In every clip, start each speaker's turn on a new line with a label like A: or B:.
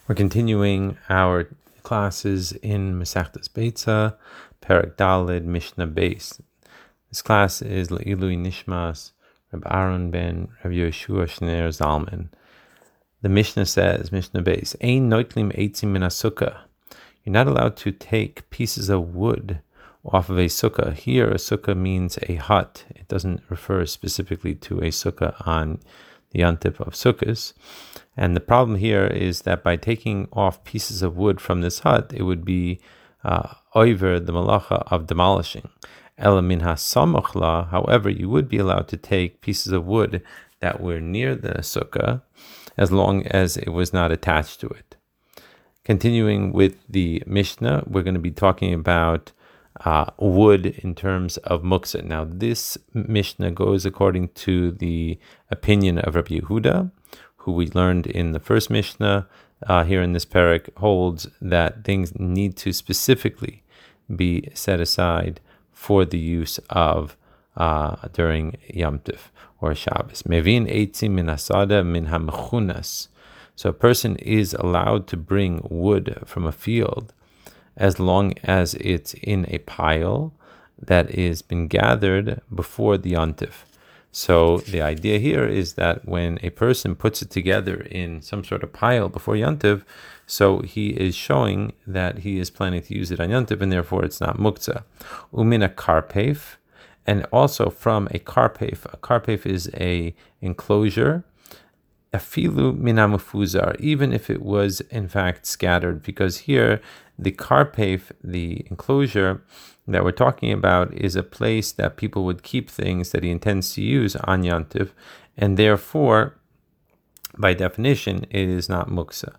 A: We're continuing our classes in Masechtas Beitza, Perek Daled, Mishnah Beis. This class is Le'ilui Nishmas, Reb Aaron ben Reb Yeshua Shner Zalman. The Mishnah says, Mishnah Beis, Ein noitlim eitzim min sukkah. You're not allowed to take pieces of wood off of a sukkah. Here, a sukkah means a hut. It doesn't refer specifically to a sukkah on the yontif of sukkahs. And the problem here is that by taking off pieces of wood from this hut, it would be over the malacha of demolishing. Ela min hasamochla. However, you would be allowed to take pieces of wood that were near the sukkah, as long as it was not attached to it. Continuing with the Mishnah, we're going to be talking about wood in terms of muktzah. Now, this Mishnah goes according to the opinion of Rabbi Yehuda, who we learned in the first Mishnah here in this parak, holds that things need to specifically be set aside for the use of during Yom Tov or Shabbos. Mevin eitzim min asada min hamechunas. So a person is allowed to bring wood from a field as long as it's in a pile that is been gathered before the Yom Tov. So the idea here is that when a person puts it together in some sort of pile before Yom Tov, so he is showing that he is planning to use it on Yom Tov, and therefore it's not muktzah. Umina karpef, and also from a karpef. A karpef is a enclosure. Afilu mina mufuzar, even if it was in fact scattered, because here the karpef, the enclosure that we're talking about, is a place that people would keep things that he intends to use on Yom Tov, and therefore, by definition, it is not muktzah.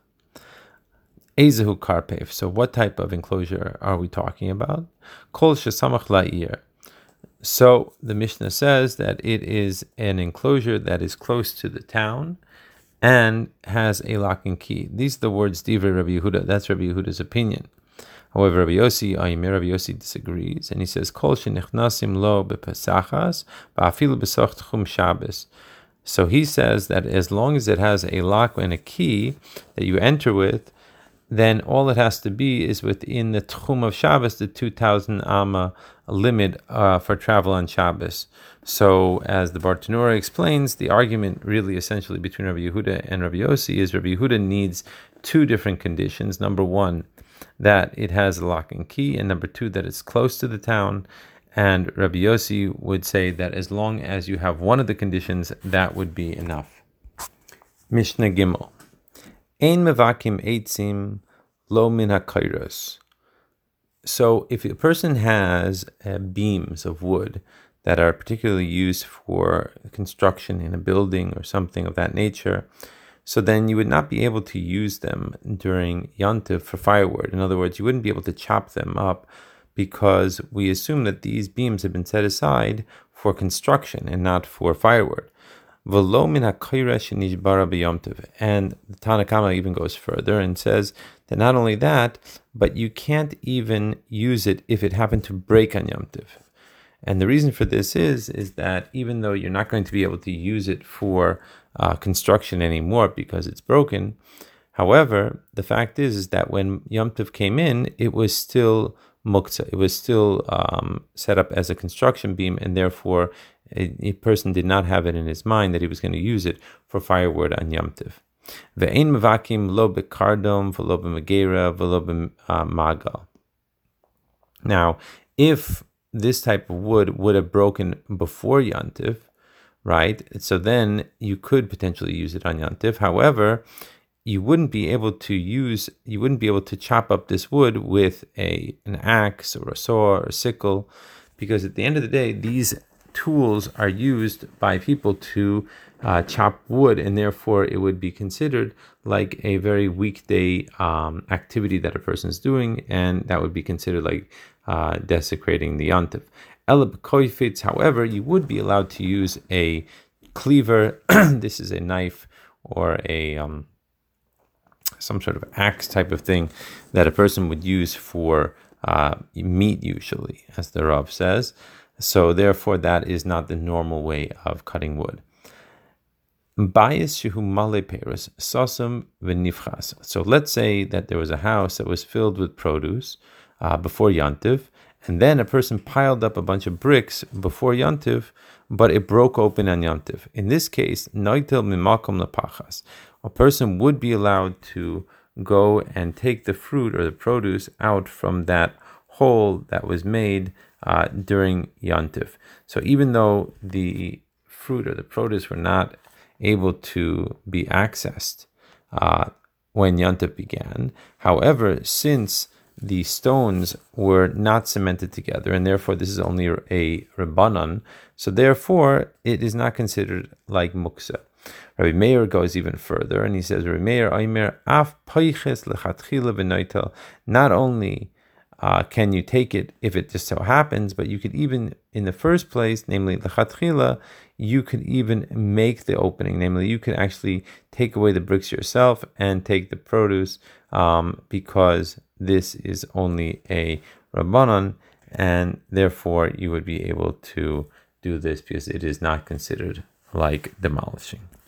A: Ezehu karpef. So what type of enclosure are we talking about? Kol shesamach la'ir. So the Mishnah says that it is an enclosure that is close to the town and has a lock and key. These are the words Divrei Rabbi Yehuda. That's Rabbi Yehuda's opinion. However, Rabbi Yossi disagrees, and he says, Kol shenichnasim lo bepesachas ba'afilu besoch tchum Shabbos. So he says that as long as it has a lock and a key that you enter with, then all it has to be is within the tchum of Shabbos, the 2,000 amma limit for travel on Shabbos. So, as the Bartanura explains, the argument really essentially between Rabbi Yehuda and Rabbi Yossi is Rabbi Yehuda needs two different conditions. Number one, that it has a lock and key, and number two, that it's close to the town. And Rabbi Yossi would say that as long as you have one of the conditions, that would be enough. Mishnah Gimel. Ein mevakim eitzim lo min hakairos. So if a person has beams of wood that are particularly used for construction in a building or something of that nature, so then you would not be able to use them during Yom Tov for firewood. In other words, you wouldn't be able to chop them up because we assume that these beams have been set aside for construction and not for firewood. V'lo min ha'kaira shenishbara b'Yom Tov. And the Tanna Kama even goes further and says that not only that, but you can't even use it if it happened to break on Yom Tov. And the reason for this is that even though you're not going to be able to use it for construction anymore because it's broken, however, the fact is that when Yom Tov came in, it was still muktzah. It was still set up as a construction beam, and therefore a person did not have it in his mind that he was going to use it for firewood on Yom Tov. Ve'ein mevakim lo bekardom v'lo b'megera v'lo b'magal. Now, if this type of wood would have broken before Yom Tov, right? So then you could potentially use it on Yom Tov. However, you wouldn't be able to chop up this wood with an axe or a saw or a sickle, because at the end of the day, these tools are used by people to chop wood, and therefore it would be considered like a very weekday activity that a person is doing, and that would be considered like desecrating the yontif. However, you would be allowed to use a cleaver. This is a knife or a some sort of axe type of thing that a person would use for meat, usually, as the Rav says. So therefore, that is not the normal way of cutting wood. Bayis shehu male peros sasum v'nifchas. So let's say that there was a house that was filled with produce before Yantiv, and then a person piled up a bunch of bricks before Yantiv, but it broke open on Yantiv. In this case, noitel mimakom lepachas. A person would be allowed to go and take the fruit or the produce out from that hole that was made during Yantiv. So even though the fruit or the produce were not able to be accessed when Yantiv began, however, since the stones were not cemented together, and therefore this is only a Rabbanan, so therefore it is not considered like Muksa. Rabbi Meir goes even further, and he says, Rabbi Meir, Aimer, af paiches lechatchila v'noitel, not only can you take it if it just so happens, but you could even, in the first place, namely lechatchila, you could even make the opening, namely you could actually take away the bricks yourself and take the produce, because this is only a Rabbanan, and therefore you would be able to do this because it is not considered like demolishing.